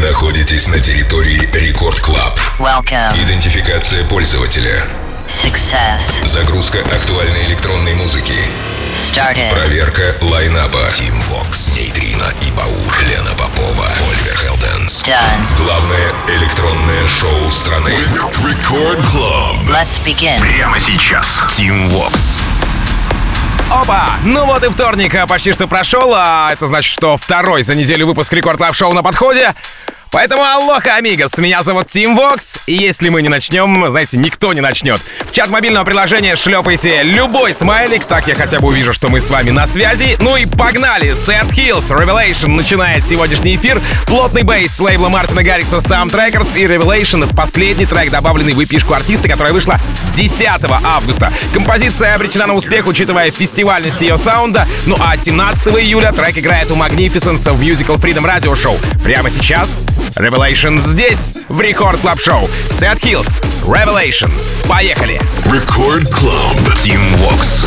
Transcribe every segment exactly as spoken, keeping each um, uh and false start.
находитесь на территории Рекорд Клаб. Welcome. Идентификация пользователя. Success. Загрузка актуальной электронной музыки. Started. Проверка лайнапа. Тим Вокс, Нейтрина и Баур, Лена Попова, Оливер Хелденс. Done. Главное электронное шоу страны. Рекорд Клаб. Let's begin. Прямо сейчас. Тим Вокс. Опа! Ну вот и вторник почти что прошел, а это значит, что второй за неделю выпуск Рекорд Клаб Шоу на подходе. Поэтому алоха, амигос, меня зовут Тим Вокс, и если мы не начнем, знаете, никто не начнет. В чат мобильного приложения шлепайте любой смайлик, так я хотя бы увижу, что мы с вами на связи. Ну и погнали! Seth Hills, Revelation начинает сегодняшний эфир. Плотный бейс с лейбла Мартина Гаррикса Stamp Records и Revelation — это последний трек, добавленный в эпишку артиста, которая вышла десятого августа. Композиция обречена на успех, учитывая фестивальность ее саунда. Ну а семнадцатого июля трек играет у Magnificence в Musical Freedom Radio Show. Прямо сейчас Revelation здесь, в Рекорд Клаб Шоу. Seth Hills, Revelation. Поехали! Рекорд Клаб. Тим Вокс.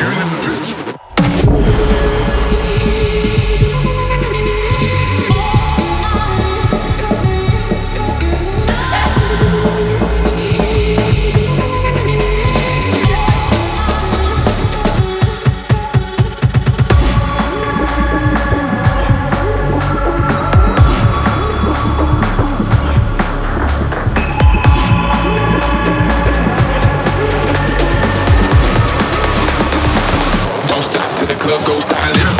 Go silent.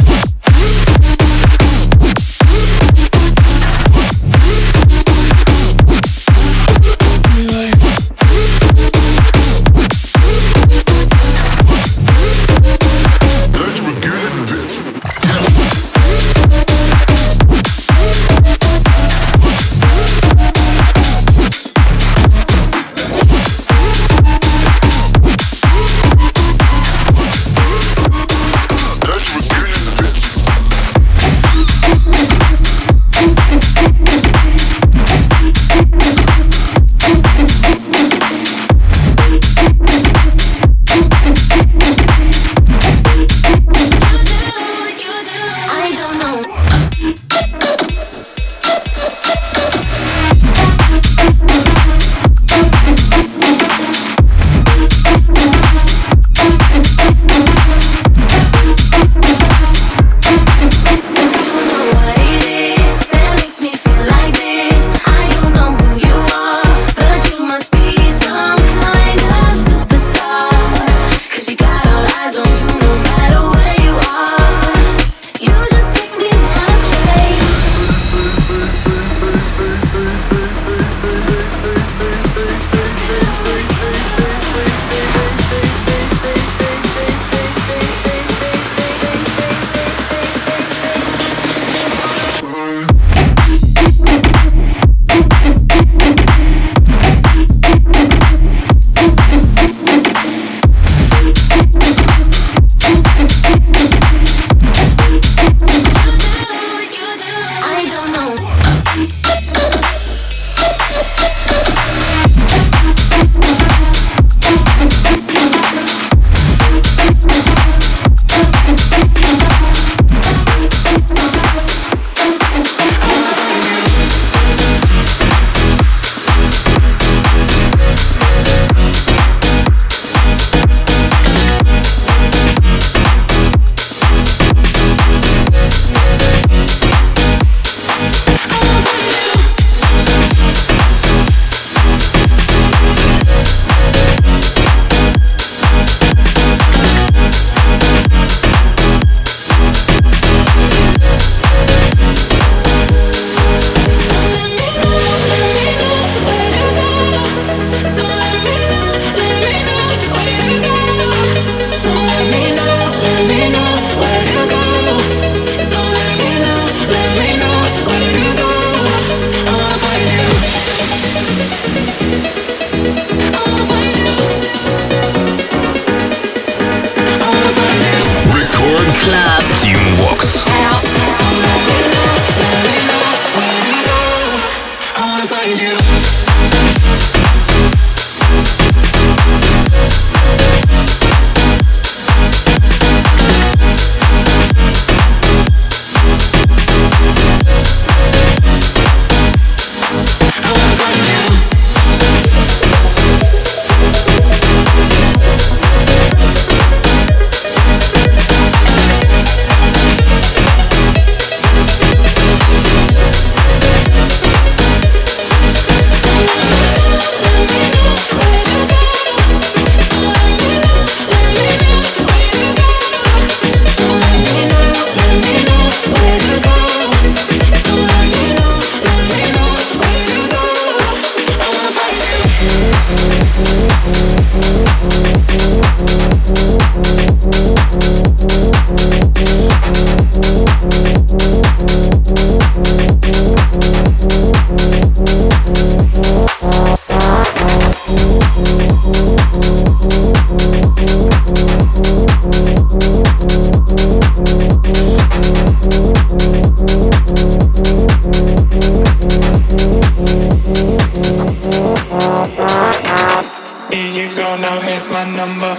here's my number.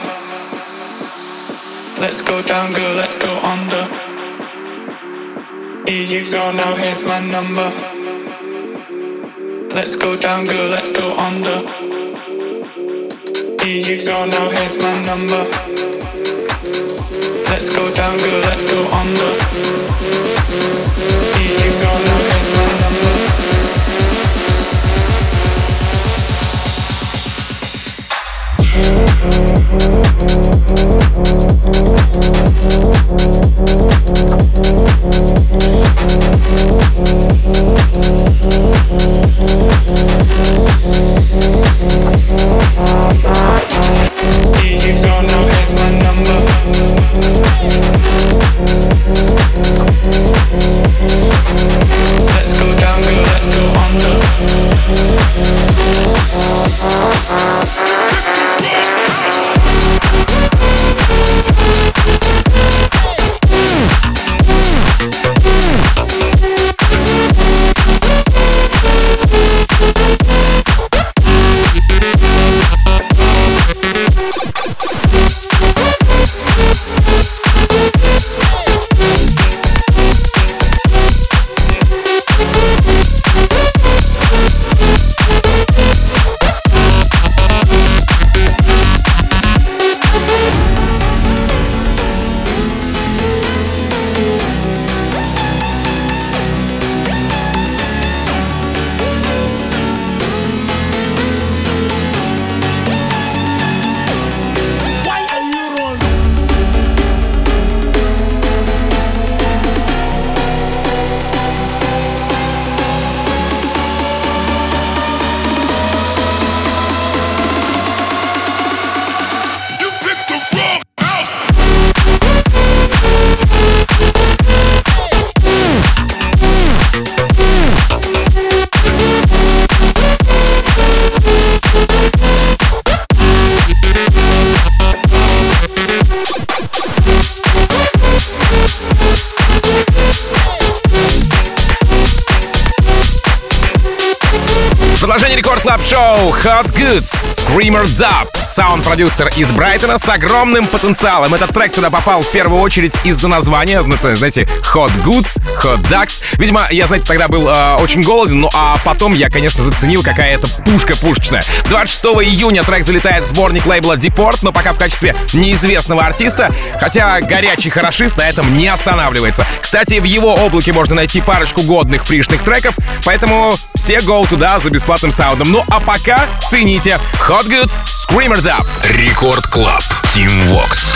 Let's go down, girl, let's go under. Here you go, now here's my number. Let's go down, girl, let's go under. Here you go, now here's my number. Let's go down, girl, let's go under. Here you go, now here's my number. Here you go, now here's my number. Let's go down, girl, let's go under. Продолжение Рекорд Клаб Шоу Hot Goods, Screamer Dub. Саунд-продюсер из Брайтона с огромным потенциалом. Этот трек сюда попал в первую очередь из-за названия. Ну, то есть, знаете, Hot Goods, Hot Ducks. Видимо, я, знаете, тогда был э, очень голоден, ну а потом я, конечно, заценил, какая это пушка пушечная. двадцать шестого июня трек залетает в сборник лейбла Deport, но пока в качестве неизвестного артиста, хотя горячий хорошист на этом не останавливается. Кстати, в его облаке можно найти парочку годных фришных треков, поэтому все go туда за бесплатным саундом. Ну а пока цените Hot Goods, Screamer Dub. Рекорд Клаб, Team Vox.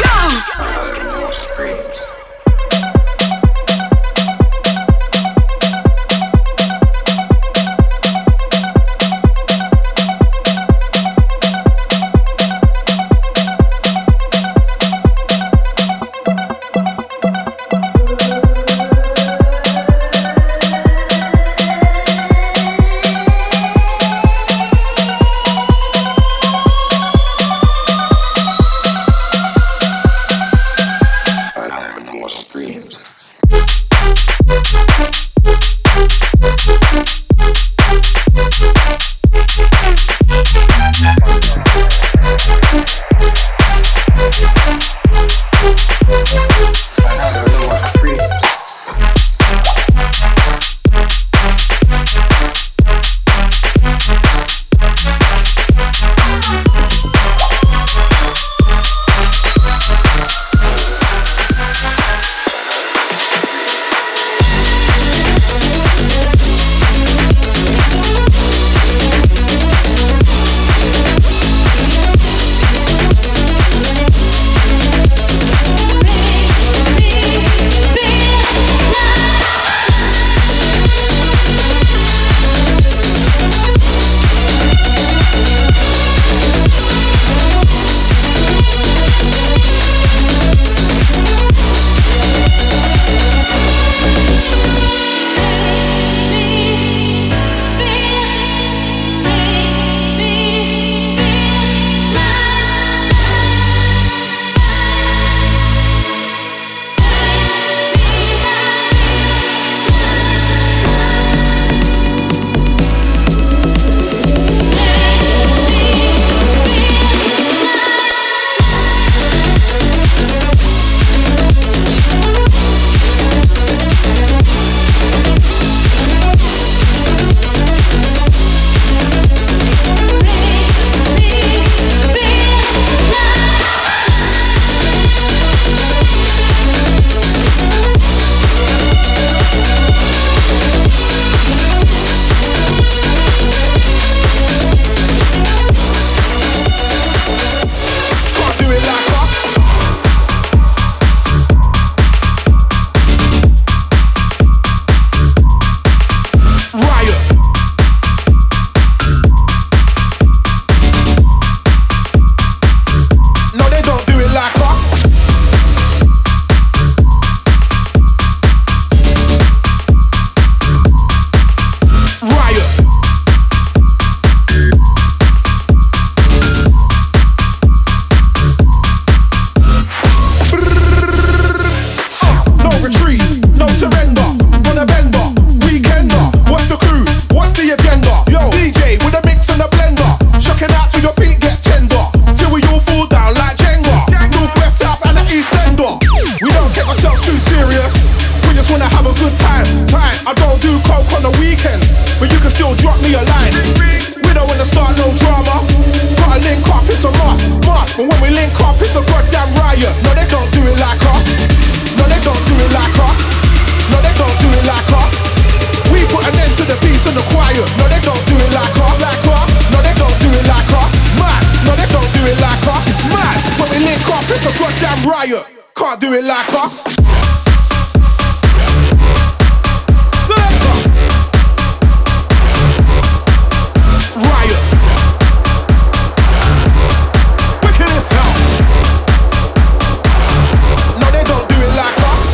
drama. Gotta link up, it's a must, must. But when we link up, it's a goddamn riot. No, they don't do it like us. No, they don't do it like us. No, they don't do it like us. We put an end to the peace and the quiet. No, they don't do it like us. Like us. No, they don't do it like us. Mad. No, they don't do it like us. Mad. When we link up, it's a goddamn riot. Can't do it like us. Selector. Riot. Wicked as hell. No, they don't do it like us.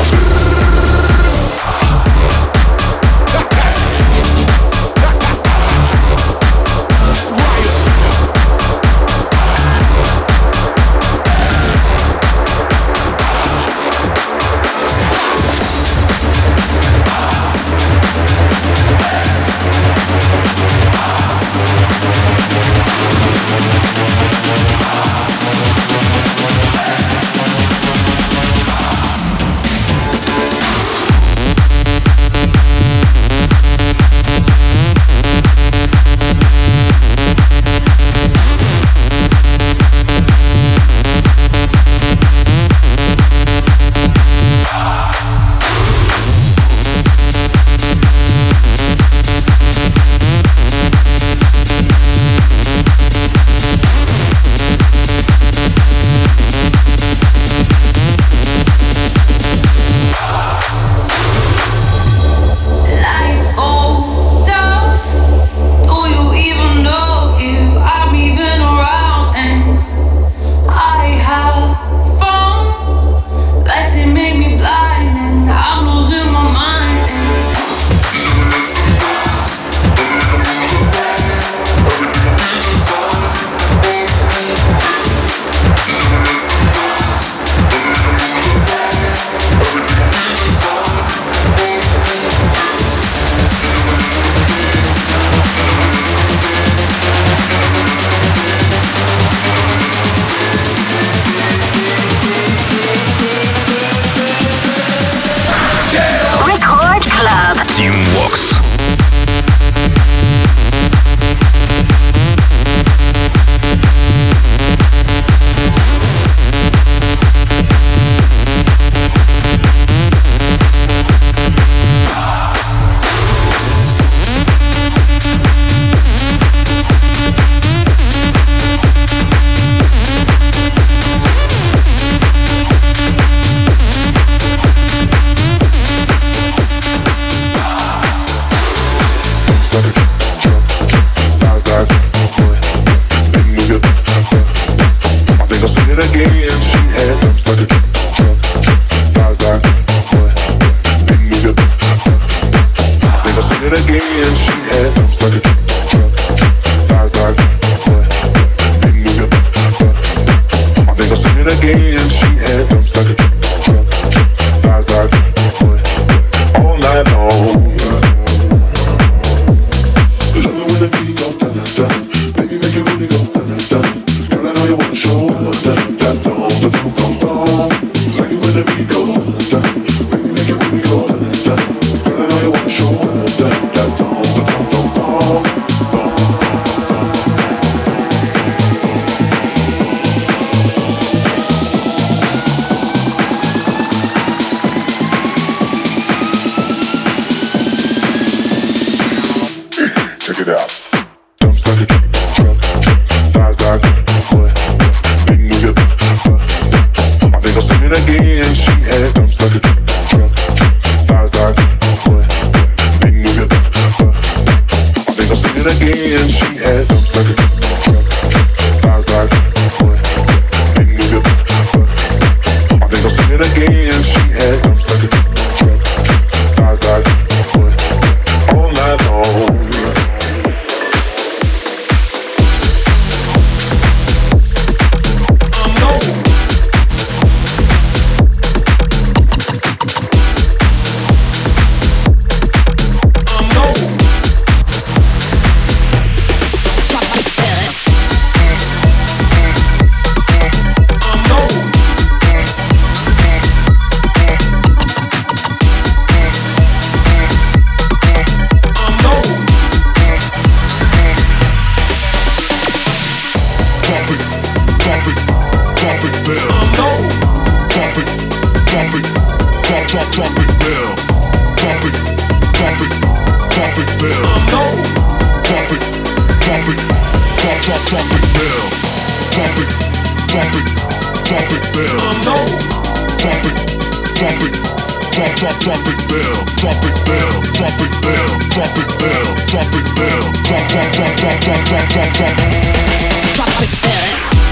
trumpet bell. Trumpet, trumpet, trumpet bell. Trumpet, trumpet, trump, trump, trumpet bell. Trumpet, trumpet, trumpet bell. Trumpet, trumpet, trump, trump, trumpet bell. Trumpet bell, trumpet bell, trumpet bell, trumpet bell. Trump, trump, trump, trump, trump, trump, trump, trump. Trumpet bell.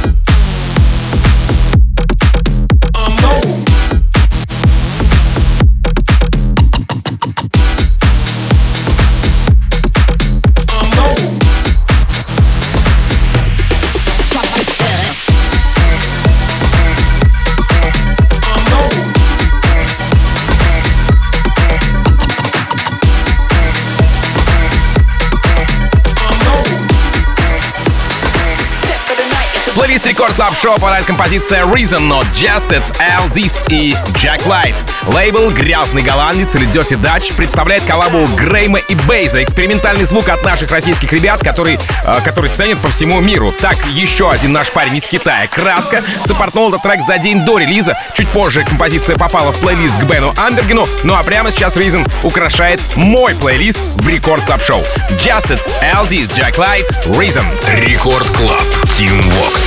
Плейлист Рекорд Клаб Шоу попадает композиция Reason Not Just It, L D S и Jack Light. Лейбл «Грязный голландец» или Dirty Dutch представляет коллабу Грейма и Бейза. Экспериментальный звук от наших российских ребят, который, э, который ценят по всему миру. Так, еще один наш парень из Китая, Краска, саппортнул этот трек за день до релиза. Чуть позже композиция попала в плейлист к Бену Амбергену. Ну а прямо сейчас Reason украшает мой плейлист в Рекорд Клаб Шоу. Just It, L D S, Jack Light, Reason. Рекорд Клаб, Team Vox.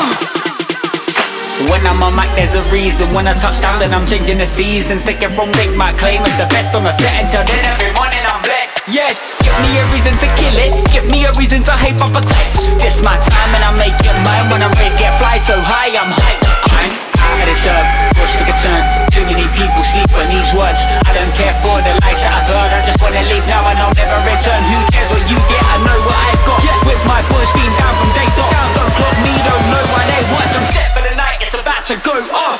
When I'm on mic, there's a reason. When I touch down, then I'm changing the season. Stick it from make my claim as the best on the set. Until then, every morning I'm blessed. Yes, give me a reason to kill it. Give me a reason to hype up a cliff. This my time and I make it mine. When I'm ready, get fly so high, I'm hyped. I'm out of this earth, push for concern. Too many people sleep on these words. I don't care for the lies that I've heard. I just wanna leave now and I'll never return. Who cares what you get? I know what I've got. Yeah. With my boys being down from day dot. Down, don't clock me, don't know why they watch. I'm set for the night, it's about to go off.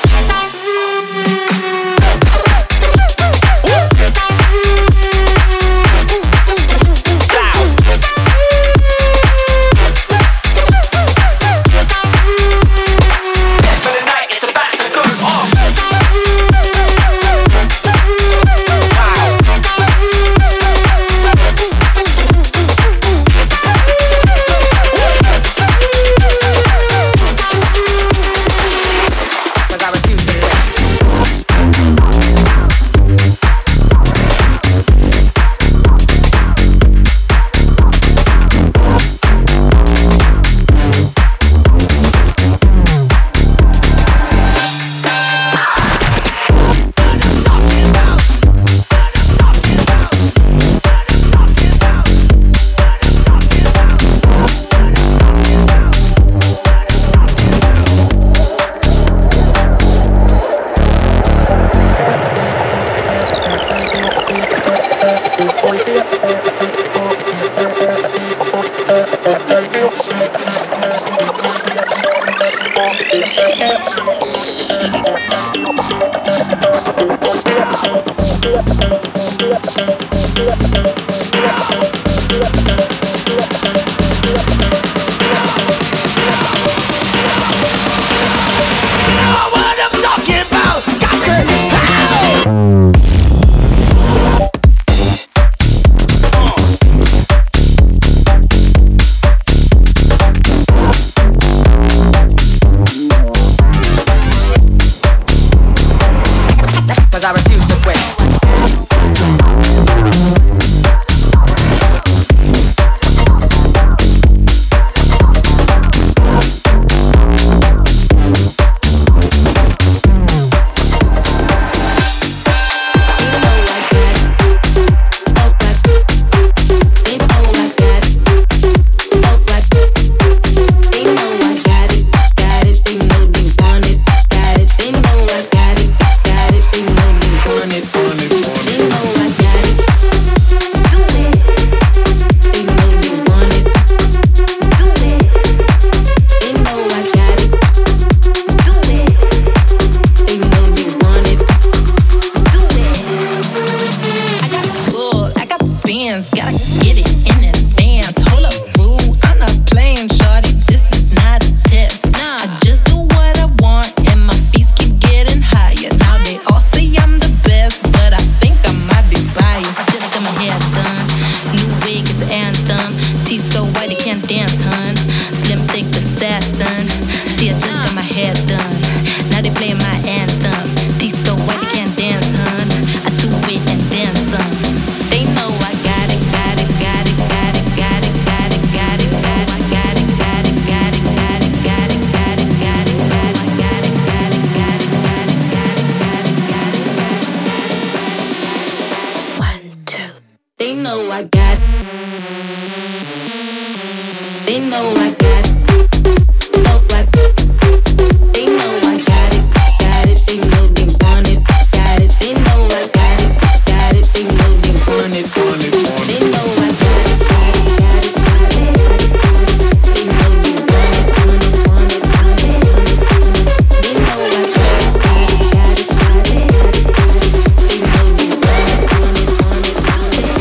They know I got it. Oh, like they know I got it. Got it. They know they want it. Got it. They know I got it. Got it. They know they want it. Want it. Want it. They know I got it. Got it. Got it. Got it. They know they want it. Want it. Want it. Want it. They know I got it. Got it. Got it. Got it. They know they want it. Want it. Want it. Want it.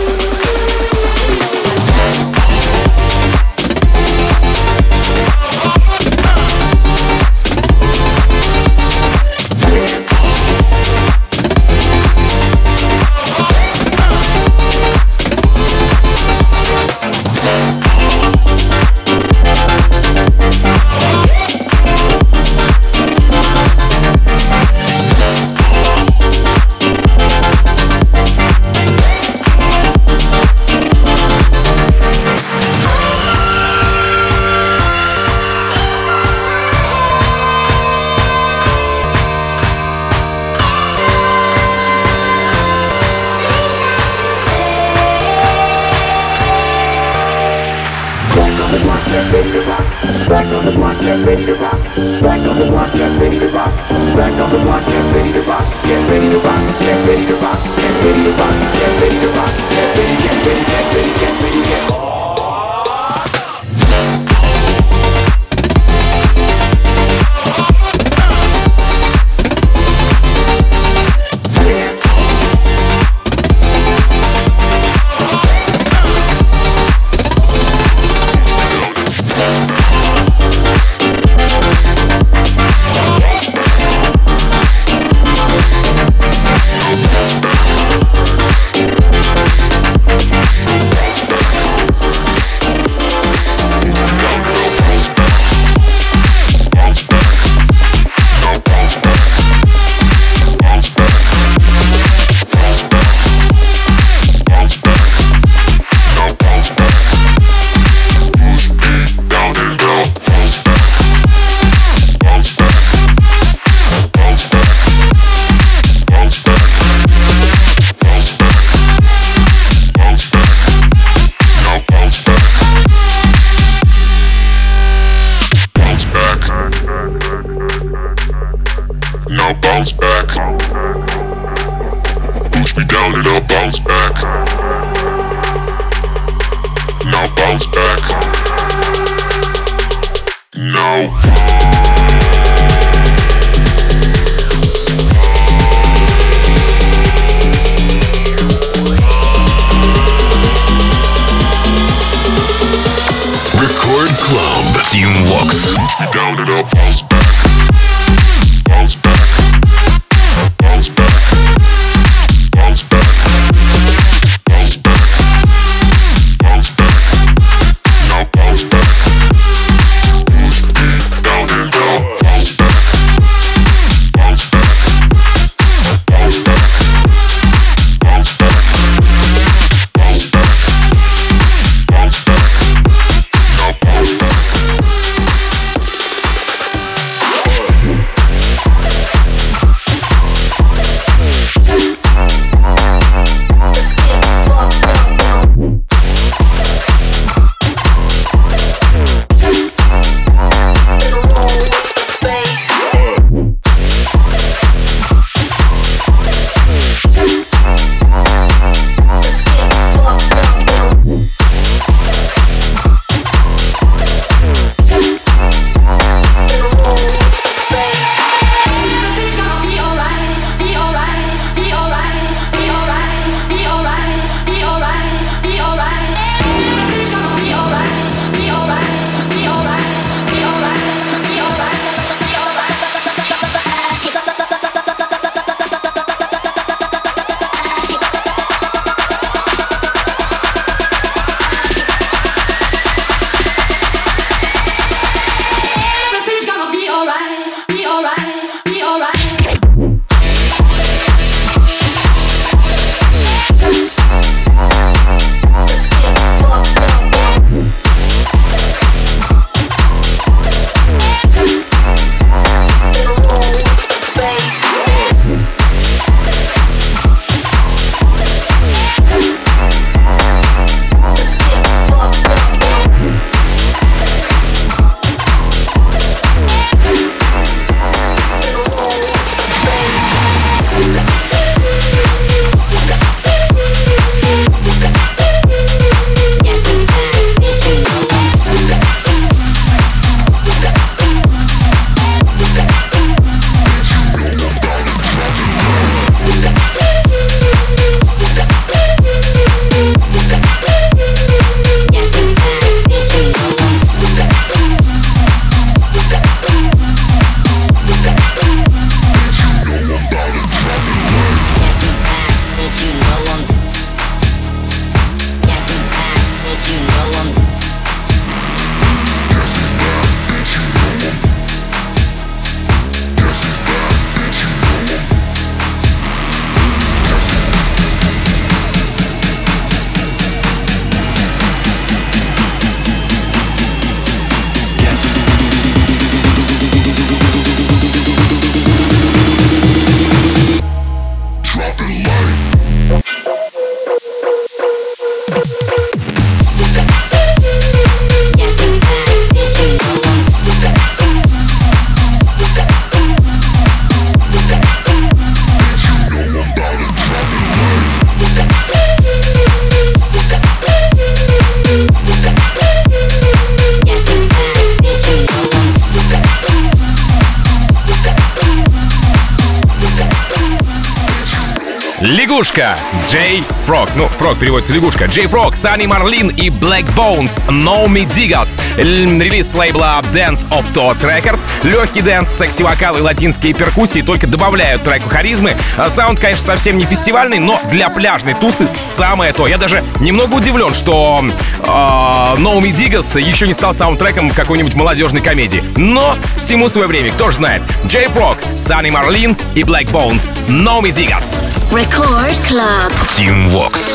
лягушка. Джей Фрог. Ну, Фрог переводится лягушка. Джей Фрог, Sunny Marlin и Black Bones. No Me Digas. Релиз с лейбла Dance of Thoughts Records. Легкий дэнс, секси-вокал и латинские перкуссии только добавляют треку харизмы. Саунд, конечно, совсем не фестивальный, но для пляжной тусы самое то. Я даже немного удивлен, что э, No Me Digas еще не стал саундтреком какой-нибудь молодежной комедии. Но всему свое время, кто ж знает. Джей Фрог, Sunny Marlin и Black Bones. No Me Digas. Record Club. Team Vox.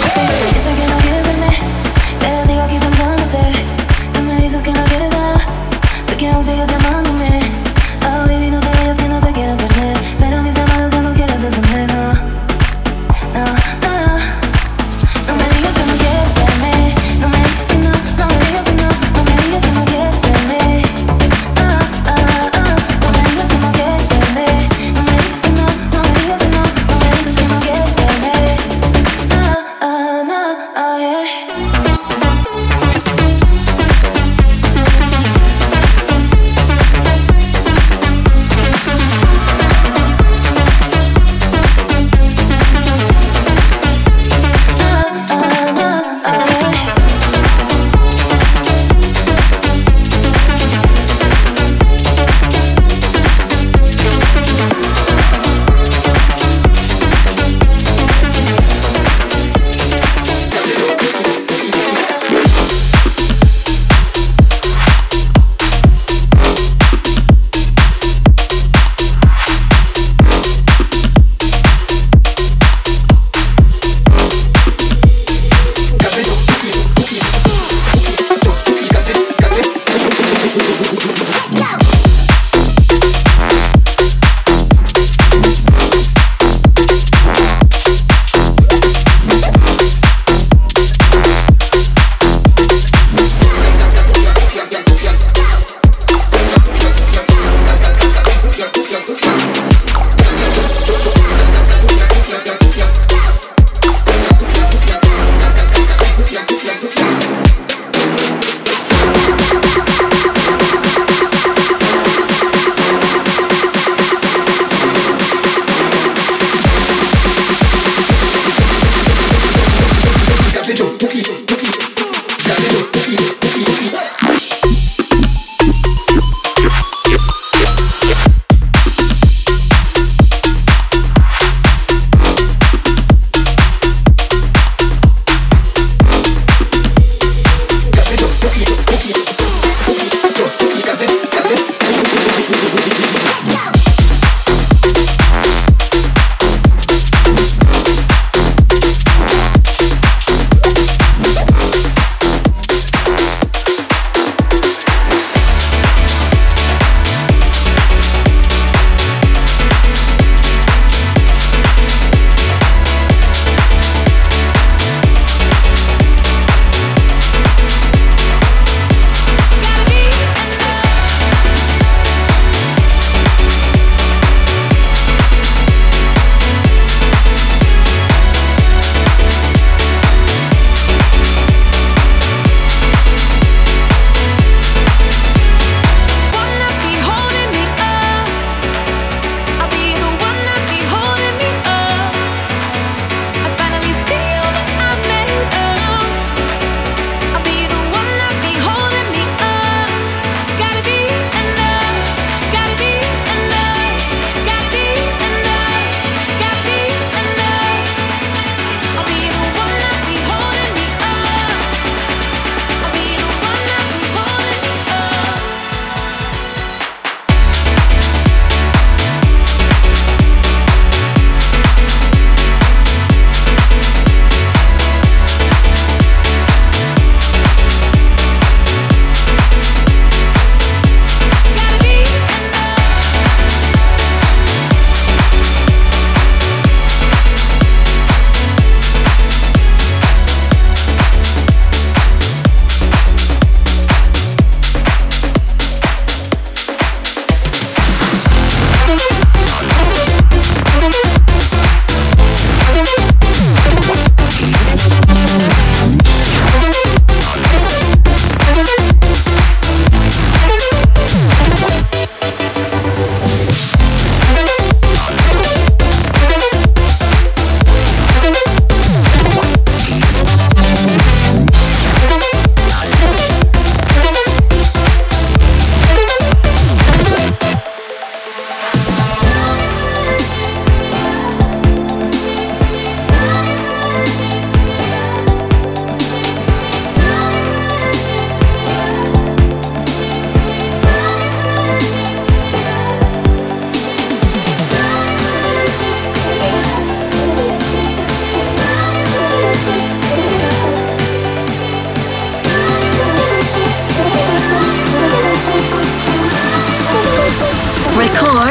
Oh,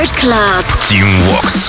Rcord Club. Team Vox.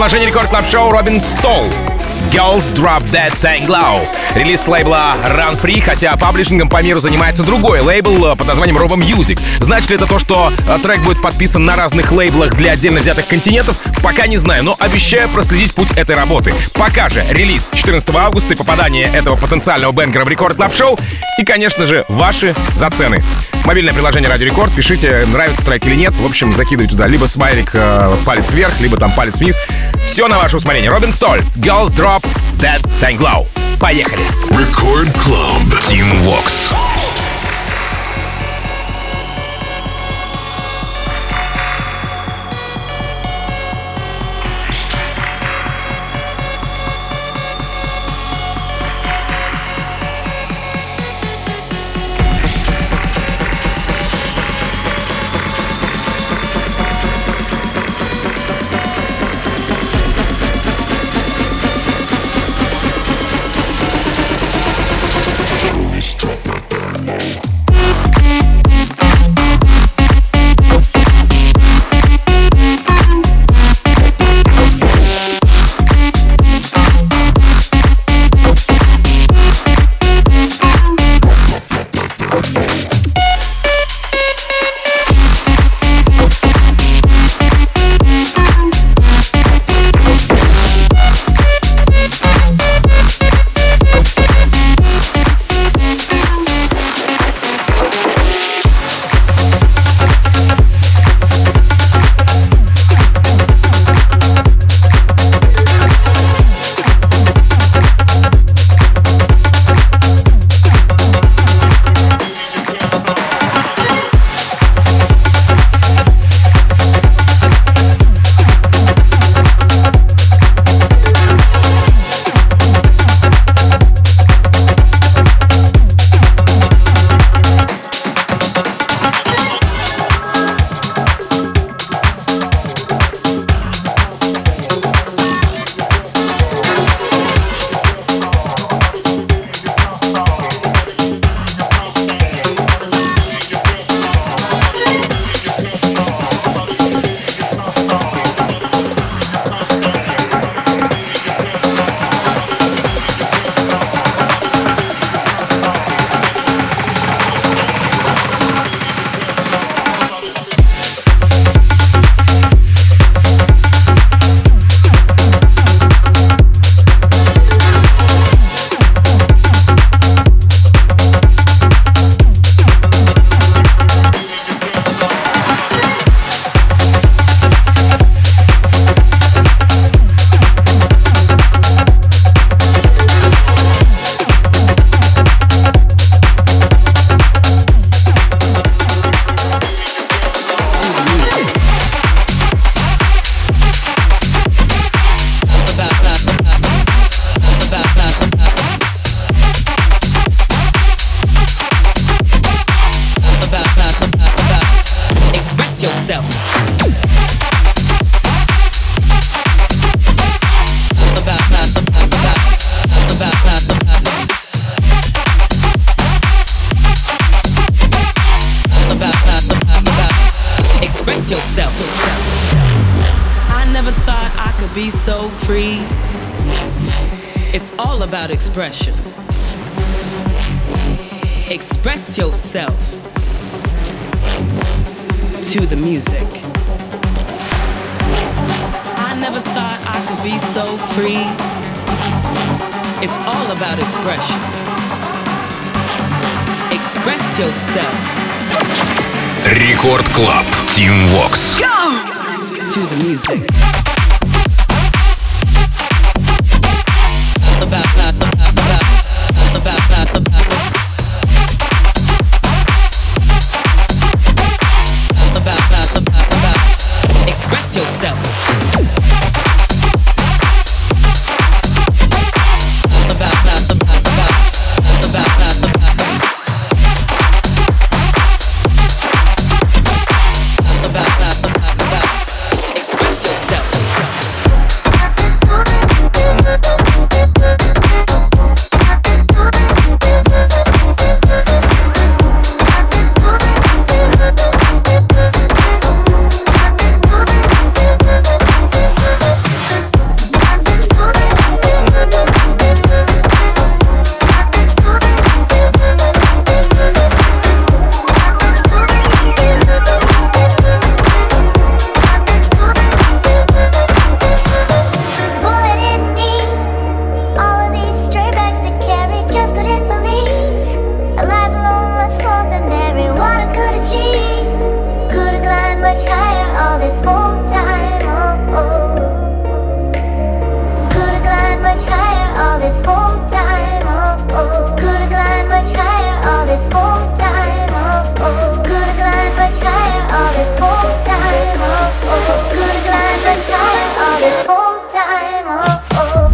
предложение Рекорд Клаб Шоу Робин Стол. Girls Drop That Thing Low. Релиз с лейбла Run Free, хотя паблишингом по миру занимается другой лейбл под названием Robo Music. Значит ли это то, что трек будет подписан на разных лейблах для отдельно взятых континентов? Пока не знаю, но обещаю проследить путь этой работы. Пока же релиз четырнадцатого августа и попадание этого потенциального бенгера в Рекорд Клаб Шоу и, конечно же, ваши зацены. Мобильное приложение Радио Рекорд, пишите, нравится трек или нет. В общем, закидывайте туда либо смайлик э, палец вверх, либо там палец вниз. Все на ваше усмотрение. Робин Столь, Girls Drop That Thing Low. Поехали. Record Club. Team Vox. Be so free. It's all about expression. Express yourself to the music. I never thought I could be so free. It's all about expression. Express yourself. Рекорд Клаб. Team Vox. Go! To the music. About, about, about, about, about, about, about, about, about, express yourself. About, about, about, about, about, about, about, about, express yourself. this whole time. Oh, oh. Could've climbed much higher all this whole time. Oh, oh. Could've climbed much higher all this whole time. Oh, oh. Could've climbed much higher all this whole time. Oh, oh.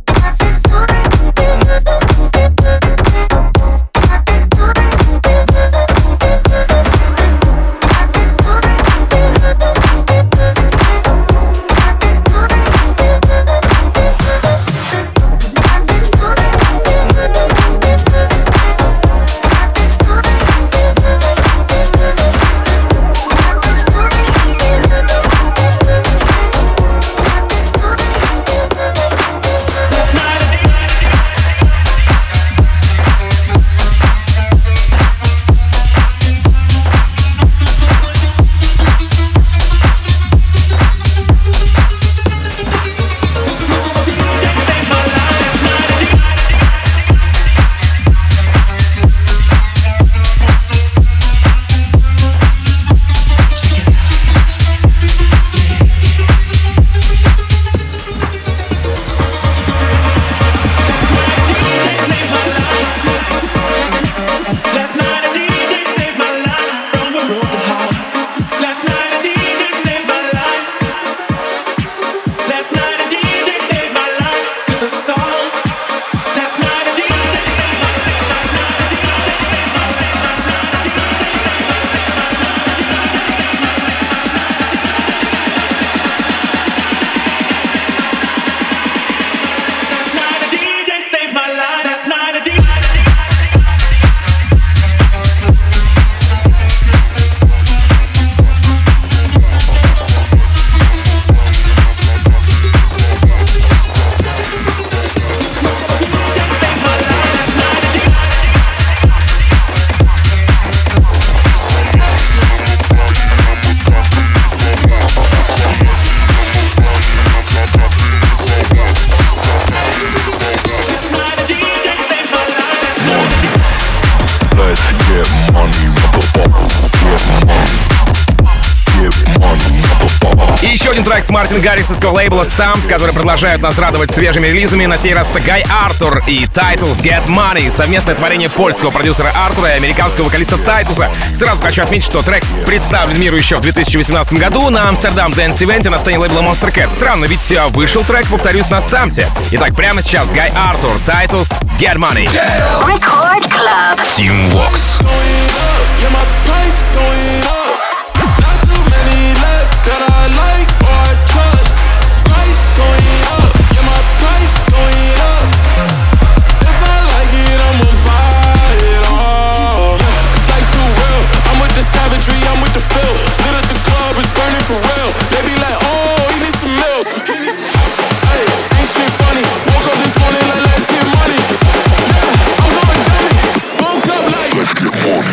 Трек с Мартин Гаррисовского лейбла Stamped, которые продолжают нас радовать свежими релизами. На сей раз это Гай Артур и Titles Get Money. Совместное творение польского продюсера Артура и американского вокалиста Тайтуса. Сразу хочу отметить, что трек представлен миру еще в две тысячи восемнадцатом году на Амстердам Dance Event на сцене лейбла Monster Cat. Странно, ведь вышел трек, повторюсь, на Stamped. Итак, прямо сейчас Гай Артур, Titles Get Money. Record Club. Team Vox. That I like or I trust. Price going up, yeah, my price going up. If I like it, I'ma buy it all. Like too real, I'm with the savagery, I'm with the feel. Lit at the club, it's burning for real. They be like, oh, he needs some milk. He needs some. Hey, ain't shit funny. Woke up this morning like, let's get money. Yeah, I'm going dummy. Woke up like, let's get money.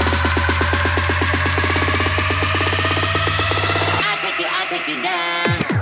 take you down.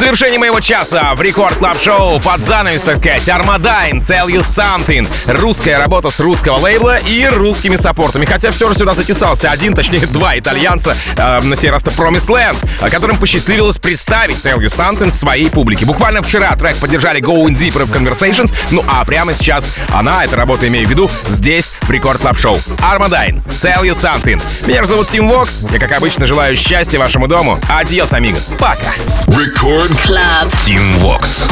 завершении моего часа в Рекорд Клаб Шоу под занавес, так сказать, Armadine, Tell You Something. Русская работа с русского лейбла и русскими саппортами. Хотя все же сюда затесался один, точнее два итальянца, э, на сей раз-то Promised Land, которым посчастливилось представить Tell You Something своей публике. Буквально вчера трек поддержали Going Deeper в Conversations, ну а прямо сейчас она, эта работа имею в виду, здесь в Рекорд Клаб Шоу. Armadine, Tell You Something. Меня же зовут Тим Вокс. Я, как обычно, желаю счастья вашему дому. Адьос, амигос. Пока. Рекорд Клаб. Тим Вокс.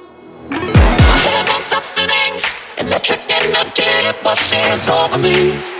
Electric energy washes over me.